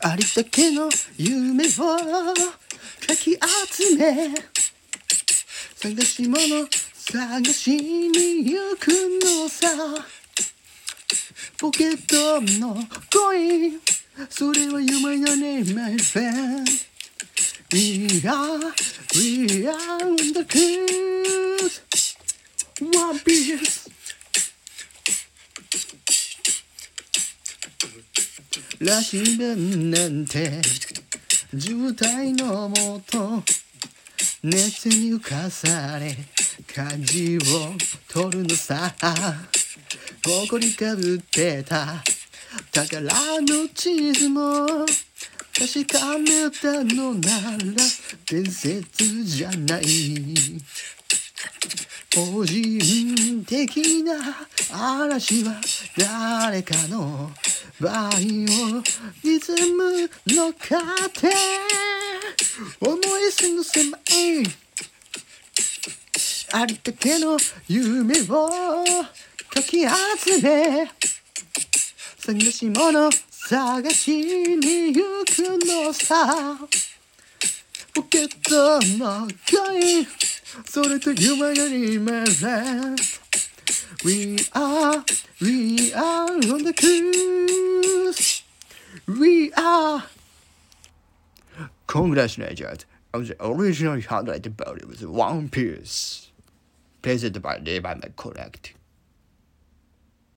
ありったけの夢をかき集め探し物探しに行くのさポケットのコインそれは夢よね my friend We are on the cruise One Piece羅針盤なんて渋滞のもと熱に浮かされ舵を取るのさ誇りかぶってた宝の地図も確かめたのなら伝説じゃない個人的な嵐は誰かのバイオリズムの糧思い過ごせまいありったけの夢をかき集め探し物探しに行くのさポケットのコインそれと夢よりまだ We are on the cruise We are Congratulations on the original highlight about it was One Piece Presented by Levi McConnect